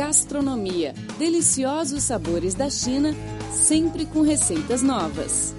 Gastronomia, deliciosos sabores da China, sempre com receitas novas.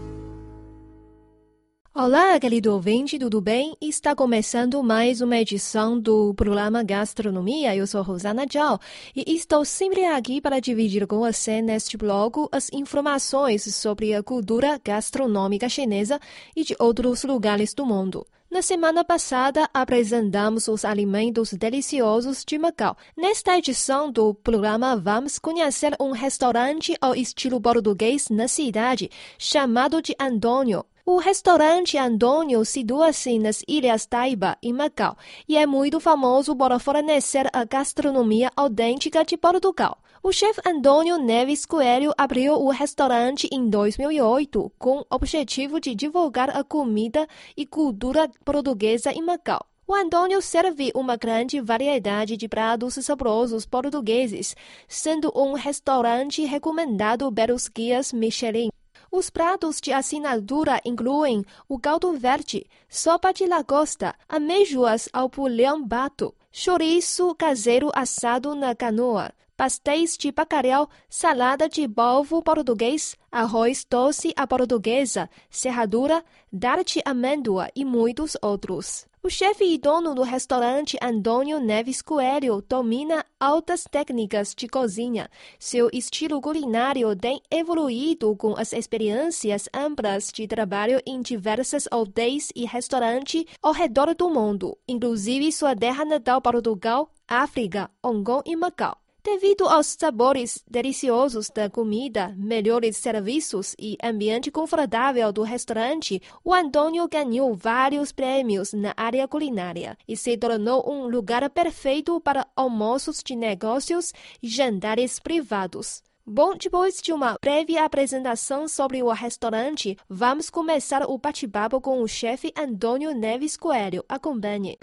Olá, querido ouvinte, tudo bem? Está começando mais uma edição do programa Gastronomia. Eu sou Rosana Zhao e estou sempre aqui para dividir com você neste blog as informações sobre a cultura gastronômica chinesa e de outros lugares do mundo. Na semana passada, apresentamos os alimentos deliciosos de Macau. Nesta edição do programa, vamos conhecer um restaurante ao estilo português na cidade, chamado de Antônio. O restaurante Antônio situa-se nas Ilhas Taiba, em Macau, e é muito famoso por fornecer a gastronomia autêntica de Portugal. O chefe Antônio Neves Coelho abriu o restaurante em 2008 com o objetivo de divulgar a comida e cultura portuguesa em Macau. O Antônio serve uma grande variedade de pratos saborosos portugueses, sendo um restaurante recomendado pelos guias Michelin. Os pratos de assinatura incluem o caldo verde, sopa de lagosta, amêijoas ao pulhão bato, chouriço caseiro assado na canoa, pastéis de bacalhau, salada de polvo português, arroz doce à portuguesa, serradura, tarte amêndoa e muitos outros. O chefe e dono do restaurante Antônio Neves Coelho domina altas técnicas de cozinha. Seu estilo culinário tem evoluído com as experiências amplas de trabalho em diversas hotéis e restaurantes ao redor do mundo, inclusive sua terra natal Portugal, África, Hong Kong e Macau. Devido aos sabores deliciosos da comida, melhores serviços e ambiente confortável do restaurante, o Antônio ganhou vários prêmios na área culinária e se tornou um lugar perfeito para almoços de negócios e jantares privados. Bom, depois de uma breve apresentação sobre o restaurante, vamos começar o bate-papo com o chefe Antônio Neves Coelho. Acompanhe.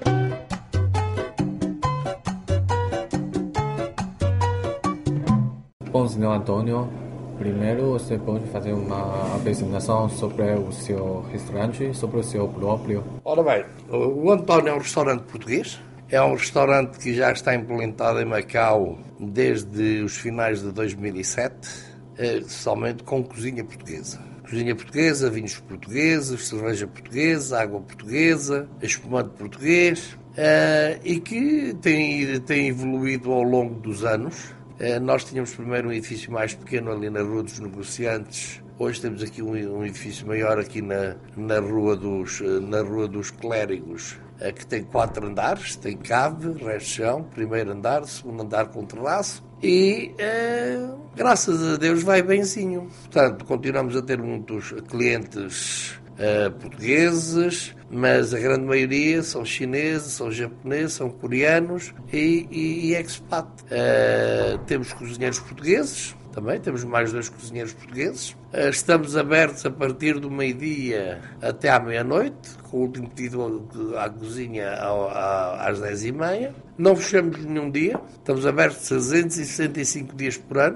Bom, senhor Antônio, primeiro você pode fazer uma apresentação sobre o seu restaurante, sobre o seu próprio. Ora bem, o Antônio é um restaurante português, é um restaurante que já está implantado em Macau desde os finais de 2007, somente com cozinha portuguesa. Cozinha portuguesa, vinhos portugueses, cerveja portuguesa, água portuguesa, espumante português, e que tem evoluído ao longo dos anos. Nós tínhamos primeiro um edifício mais pequeno ali na Rua dos Negociantes. Hoje temos aqui um edifício maior aqui na Rua dos Clérigos, que tem 4 andares, tem cave, resto de chão, primeiro andar, segundo andar com terraço e, graças a Deus, vai benzinho. Portanto, continuamos a ter muitos clientes portugueses, mas a grande maioria são chineses, são japoneses, são coreanos e expat. Temos cozinheiros portugueses, também temos mais 2 cozinheiros portugueses. Estamos abertos a partir do meio-dia até à meia-noite, com o último pedido à cozinha às 10h30. Não fechamos nenhum dia, estamos abertos 365 dias por ano.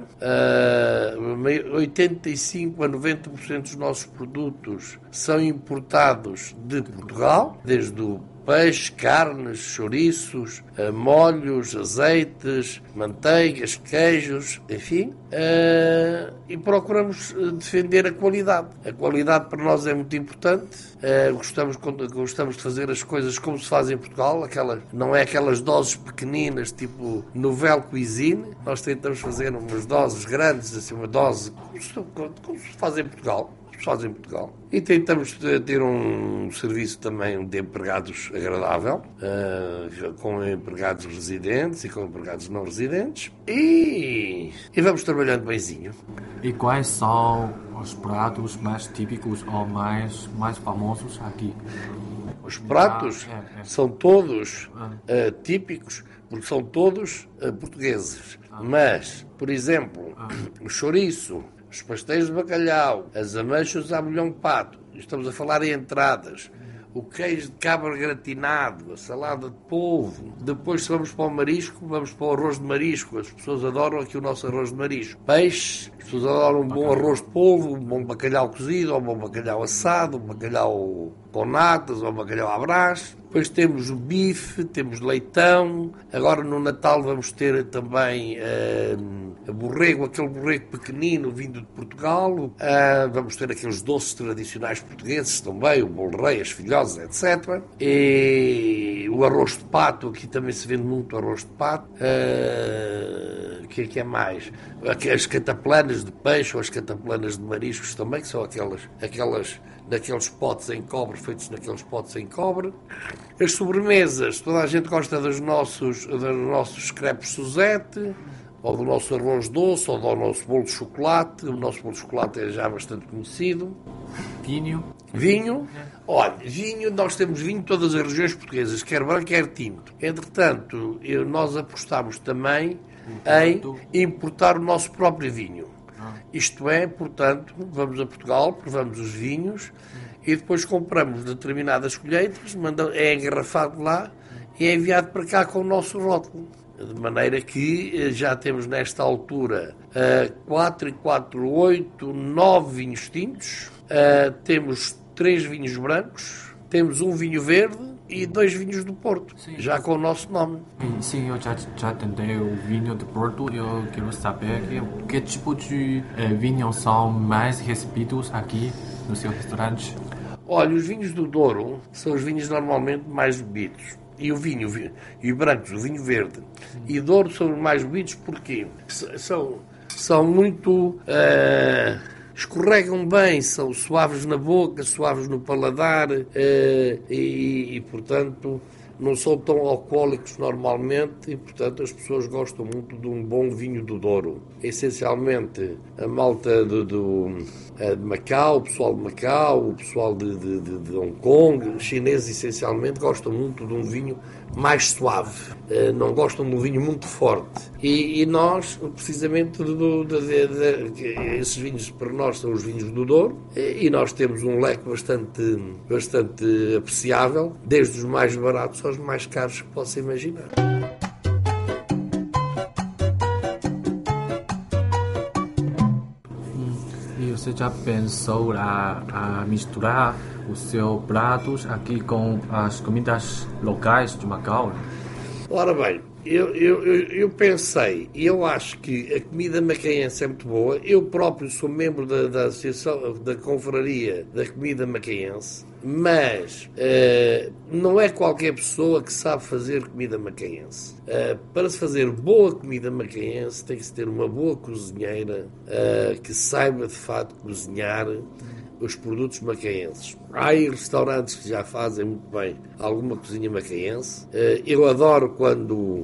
85 a 90% dos nossos produtos são importados de Portugal, desde o peixe, carnes, chouriços, molhos, azeites, manteigas, queijos, enfim, e procuramos defender a qualidade. A qualidade para nós é muito importante. Gostamos de fazer as coisas como se faz em Portugal, não é aquelas doses pequeninas, tipo nouvelle cuisine. Nós tentamos fazer umas doses grandes, assim, uma dose como se faz em Portugal. E tentamos ter um serviço também de empregados agradável, com empregados residentes e com empregados não residentes, e vamos trabalhando benzinho. E quais são os pratos mais típicos ou mais famosos aqui? Os pratos são todos típicos, porque são todos portugueses. Mas, por exemplo, o chouriço, os pastéis de bacalhau, as ameixas à molhão de pato, estamos a falar em entradas, o queijo de cabra gratinado, a salada de polvo. Depois, se vamos para o marisco, vamos para o arroz de marisco. As pessoas adoram aqui o nosso arroz de marisco. Peixe, as pessoas adoram um bom arroz de polvo, um bom bacalhau cozido, ou um bom bacalhau assado, um bacalhau com natas ou bacalhau à brás. Depois temos o bife, temos leitão. Agora no Natal vamos ter também borrego, aquele borrego pequenino vindo de Portugal. Vamos ter aqueles doces tradicionais portugueses também, o bolo rei, as filhosas, etc. E o arroz de pato, aqui também se vende muito arroz de pato. O que é mais? As cataplanas de peixe ou as cataplanas de mariscos também, que são aquelas naqueles potes em cobre, feitos naqueles potes em cobre. As sobremesas, toda a gente gosta dos nossos crepes Suzette, ou do nosso arroz doce, ou do nosso bolo de chocolate. O nosso bolo de chocolate é já bastante conhecido. Vinho. Olha, vinho, nós temos vinho em todas as regiões portuguesas, quer branco, quer tinto. Entretanto, nós apostamos também em importar o nosso próprio vinho. Isto é, portanto, vamos a Portugal, provamos os vinhos e depois compramos determinadas colheitas, é engarrafado lá e é enviado para cá com o nosso rótulo. De maneira que já temos nesta altura 4 e 4, 8, 9 vinhos tintos, temos 3 vinhos brancos, temos um vinho verde e 2 vinhos do Porto, já com o nosso nome. Sim, eu já tentei o vinho do Porto. Eu quero saber que tipo de vinhos são mais recebidos aqui no seu restaurante. Olha, os vinhos do Douro são os vinhos normalmente mais bebidos. E o vinho, e brancos, o vinho verde e Douro são os mais bebidos porque são muito... escorregam bem, são suaves na boca, suaves no paladar e, portanto, não são tão alcoólicos normalmente e, portanto, as pessoas gostam muito de um bom vinho do Douro. Essencialmente, a malta de Macau, o pessoal de Macau, o pessoal de Hong Kong, os chineses, essencialmente, gostam muito de um vinho mais suave. Não gostam de um vinho muito forte. E nós, precisamente, esses vinhos para nós são os vinhos do Douro e nós temos um leque bastante apreciável, desde os mais baratos aos mais caros que possa imaginar. E você já pensou a misturar os seus pratos aqui com as comidas locais de Macau? Ora bem, eu pensei, e eu acho que a comida macaense é muito boa. Eu próprio sou membro da Associação da Confraria da Comida Macaense, mas não é qualquer pessoa que sabe fazer comida macaense. Para se fazer boa comida macaense tem que se ter uma boa cozinheira que saiba de facto cozinhar os produtos macaenses. Há aí restaurantes que já fazem muito bem alguma cozinha macaense. Eu adoro quando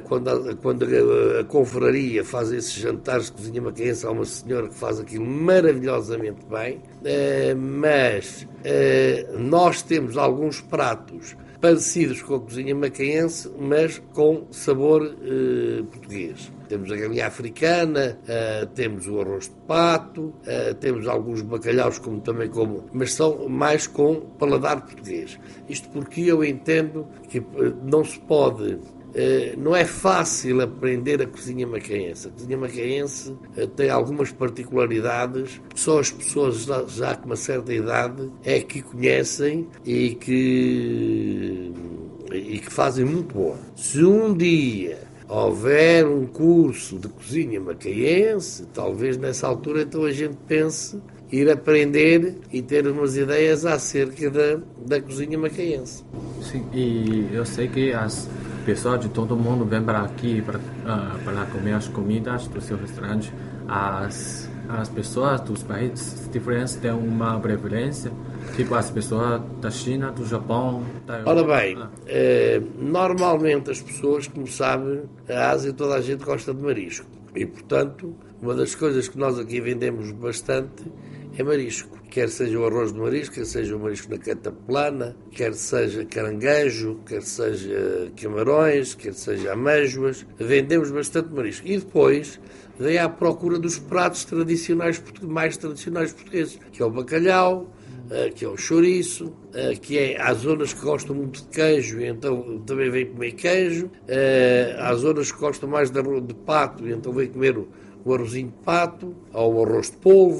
a confraria faz esses jantares de cozinha macaense. Há uma senhora que faz aquilo maravilhosamente bem, mas nós temos alguns pratos parecidos com a cozinha macaense, mas com sabor português. Temos a galinha africana, temos o arroz de pato, temos alguns bacalhaus mas são mais com paladar português. Isto porque eu entendo que não se pode... não é fácil aprender a cozinha macaense. A cozinha macaense tem algumas particularidades que só as pessoas já com uma certa idade é que conhecem e que fazem muito boa. Se um dia houver um curso de cozinha macaense, talvez nessa altura então a gente pense ir aprender e ter umas ideias acerca da cozinha macaense. Sim, e eu sei que as pessoas de todo mundo vêm para aqui para comer as comidas do seu restaurante. As pessoas dos países diferentes têm uma preferência, tipo as pessoas da China, do Japão, da Europa. Ora bem, normalmente as pessoas, como sabem, a Ásia toda a gente gosta de marisco. E, portanto, uma das coisas que nós aqui vendemos bastante é marisco. Quer seja o arroz de marisco, quer seja o marisco na cataplana, quer seja caranguejo, quer seja camarões, quer seja amêijoas. Vendemos bastante marisco. E depois vem à procura dos pratos mais tradicionais portugueses, que é o bacalhau, que é o chouriço, que há zonas que gostam muito de queijo, e então também vem comer queijo. Há zonas que gostam mais de pato, e então vem comer o arrozinho de pato, ou o arroz de polvo.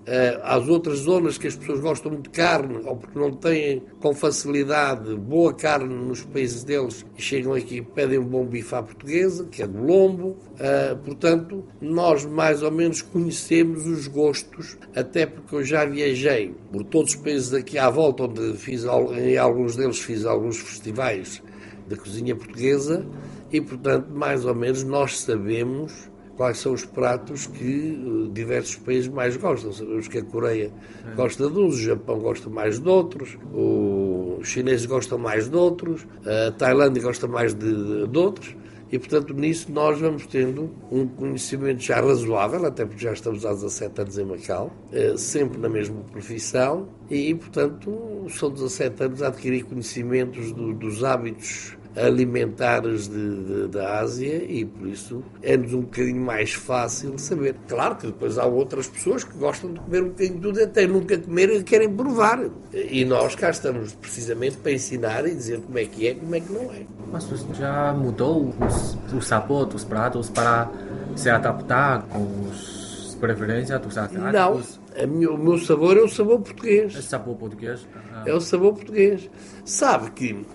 Às outras zonas que as pessoas gostam muito de carne, ou porque não têm com facilidade boa carne nos países deles, e chegam aqui e pedem um bom bife à portuguesa, que é do lombo. Portanto, nós mais ou menos conhecemos os gostos, até porque eu já viajei por todos os países aqui à volta, onde em alguns deles fiz alguns festivais de cozinha portuguesa, e portanto, mais ou menos, nós sabemos quais são os pratos que diversos países mais gostam. Sabemos que a Coreia gosta de uns, o Japão gosta mais de outros, os chineses gostam mais de outros, a Tailândia gosta mais de outros, e portanto nisso nós vamos tendo um conhecimento já razoável, até porque já estamos há 17 anos em Macau, sempre na mesma profissão, e portanto são 17 anos a adquirir conhecimentos dos hábitos alimentares da Ásia, e por isso é-nos um bocadinho mais fácil saber. Claro que depois há outras pessoas que gostam de comer um bocadinho de tudo, até nunca comer e querem provar. E nós cá estamos precisamente para ensinar e dizer como é que é, como é que não é. Mas você já mudou o sabor dos pratos para se adaptar com as preferências dos asiáticos? Não, o meu sabor é o sabor português. É o sabor português? É o sabor português. Sabe que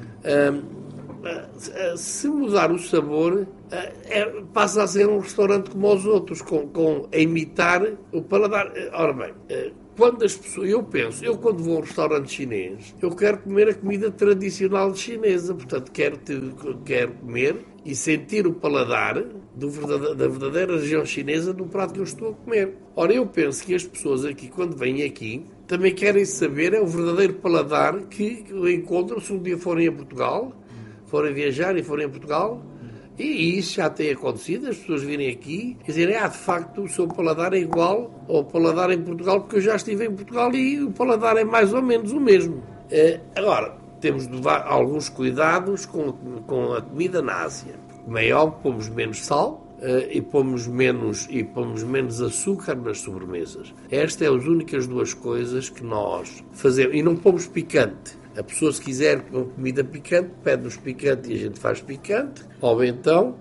se mudar o sabor, passa a ser um restaurante como os outros, a imitar o paladar. Ora bem, quando as pessoas, eu quando vou a um restaurante chinês, eu quero comer a comida tradicional chinesa, portanto quero comer e sentir o paladar da verdadeira região chinesa do prato que eu estou a comer. Ora, eu penso que as pessoas aqui, quando vêm aqui, também querem saber o verdadeiro paladar que encontram se um dia forem a Portugal, forem viajar e forem a Portugal, e isso já tem acontecido, as pessoas virem aqui e dizerem, de facto, o seu paladar é igual ao paladar em Portugal, porque eu já estive em Portugal e o paladar é mais ou menos o mesmo. Agora, temos de levar alguns cuidados com a comida na Ásia. Como é óbvio, pomos menos sal, e pomos menos açúcar nas sobremesas. Estas são as únicas duas coisas que nós fazemos. E não pomos picante. A pessoa, se quiser comida picante, pede-nos picante e a gente faz picante. Ou então,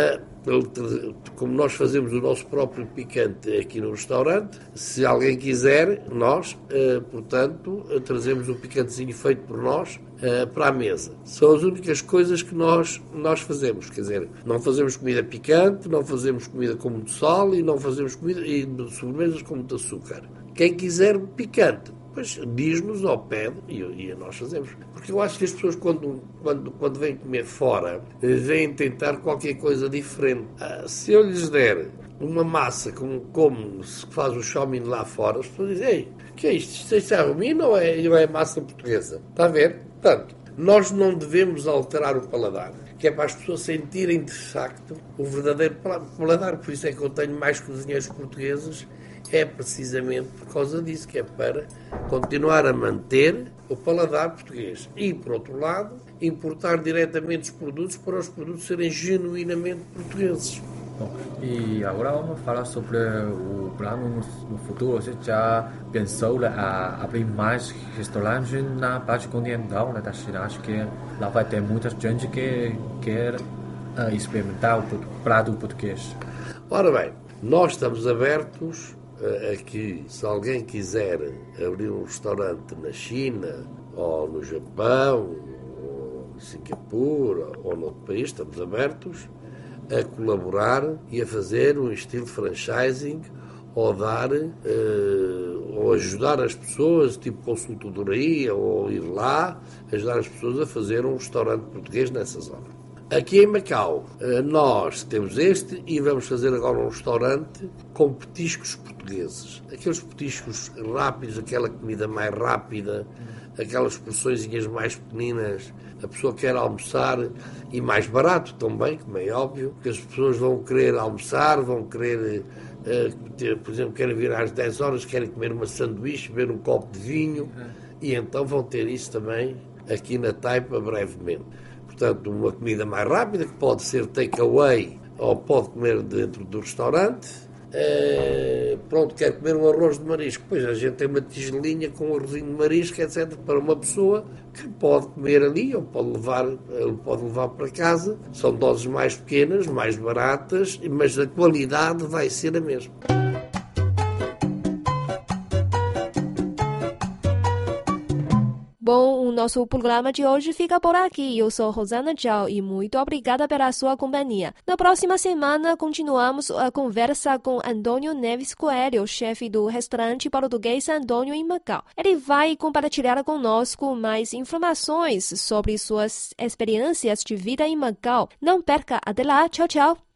como nós fazemos o nosso próprio picante aqui no restaurante, se alguém quiser, nós, portanto, trazemos um picantezinho feito por nós para a mesa. São as únicas coisas que nós fazemos. Quer dizer, não fazemos comida picante, não fazemos comida com muito sal e não fazemos comida e sobremesas com muito açúcar. Quem quiser picante, pois diz-nos ou pede e nós fazemos. Porque eu acho que as pessoas, quando vêm comer fora, vêm tentar qualquer coisa diferente. Se eu lhes der uma massa como se faz o chow mein lá fora, as pessoas dizem, ei, que é isto? Isto é romina ou é massa portuguesa? Está a ver? Portanto, nós não devemos alterar o paladar, que é para as pessoas sentirem de facto o verdadeiro paladar. Por isso é que eu tenho mais cozinheiros portugueses, é precisamente por causa disso, que é para continuar a manter o paladar português. E, por outro lado, importar diretamente os produtos para os produtos serem genuinamente portugueses. Bom, e agora vamos falar sobre o plano no futuro. Você já pensou em abrir mais restaurantes na parte continental da China? Acho que lá vai ter muita gente que quer experimentar o prato português. Ora bem, nós estamos abertos a que, se alguém quiser abrir um restaurante na China, ou no Japão, ou em Singapura, ou noutro país, estamos abertos a colaborar e a fazer um estilo franchising, ou dar, ou ajudar as pessoas, tipo consultoria, ou ir lá, ajudar as pessoas a fazer um restaurante português nessa zona. Aqui em Macau, nós temos este e vamos fazer agora um restaurante com petiscos portugueses. Aqueles petiscos rápidos, aquela comida mais rápida, aquelas porçõezinhas mais pequeninas, a pessoa quer almoçar e mais barato também, como é óbvio, que as pessoas vão querer almoçar, vão querer, por exemplo, querem vir às 10 horas, querem comer uma sanduíche, beber um copo de vinho, e então vão ter isso também aqui na Taipa brevemente. Portanto, uma comida mais rápida, que pode ser take-away ou pode comer dentro do restaurante. Pronto, quer comer um arroz de marisco. Pois a gente tem uma tigelinha com um arrozinho de marisco, etc., para uma pessoa que pode comer ali ou pode levar para casa. São doses mais pequenas, mais baratas, mas a qualidade vai ser a mesma. o nosso programa de hoje fica por aqui. Eu sou Rosana Zhao e muito obrigada pela sua companhia. Na próxima semana, continuamos a conversa com Antônio Neves Coelho, chefe do restaurante português Antônio em Macau. Ele vai compartilhar conosco mais informações sobre suas experiências de vida em Macau. Não perca, até lá, tchau, tchau!